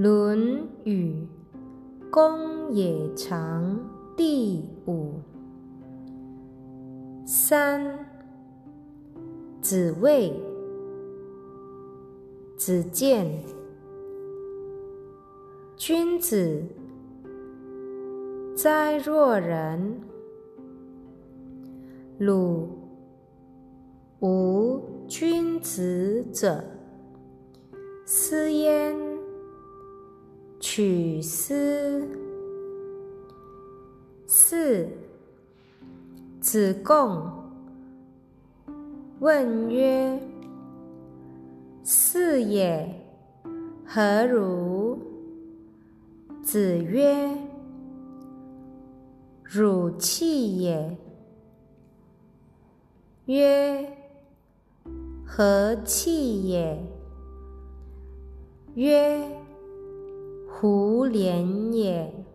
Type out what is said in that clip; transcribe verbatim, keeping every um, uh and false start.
论语公冶长第五。三。子谓。子见。君子哉若人！鲁无君子者，斯焉取斯。四。子贡问曰：是也，何如？子曰：汝弃也。曰：何弃也？曰：胡连也。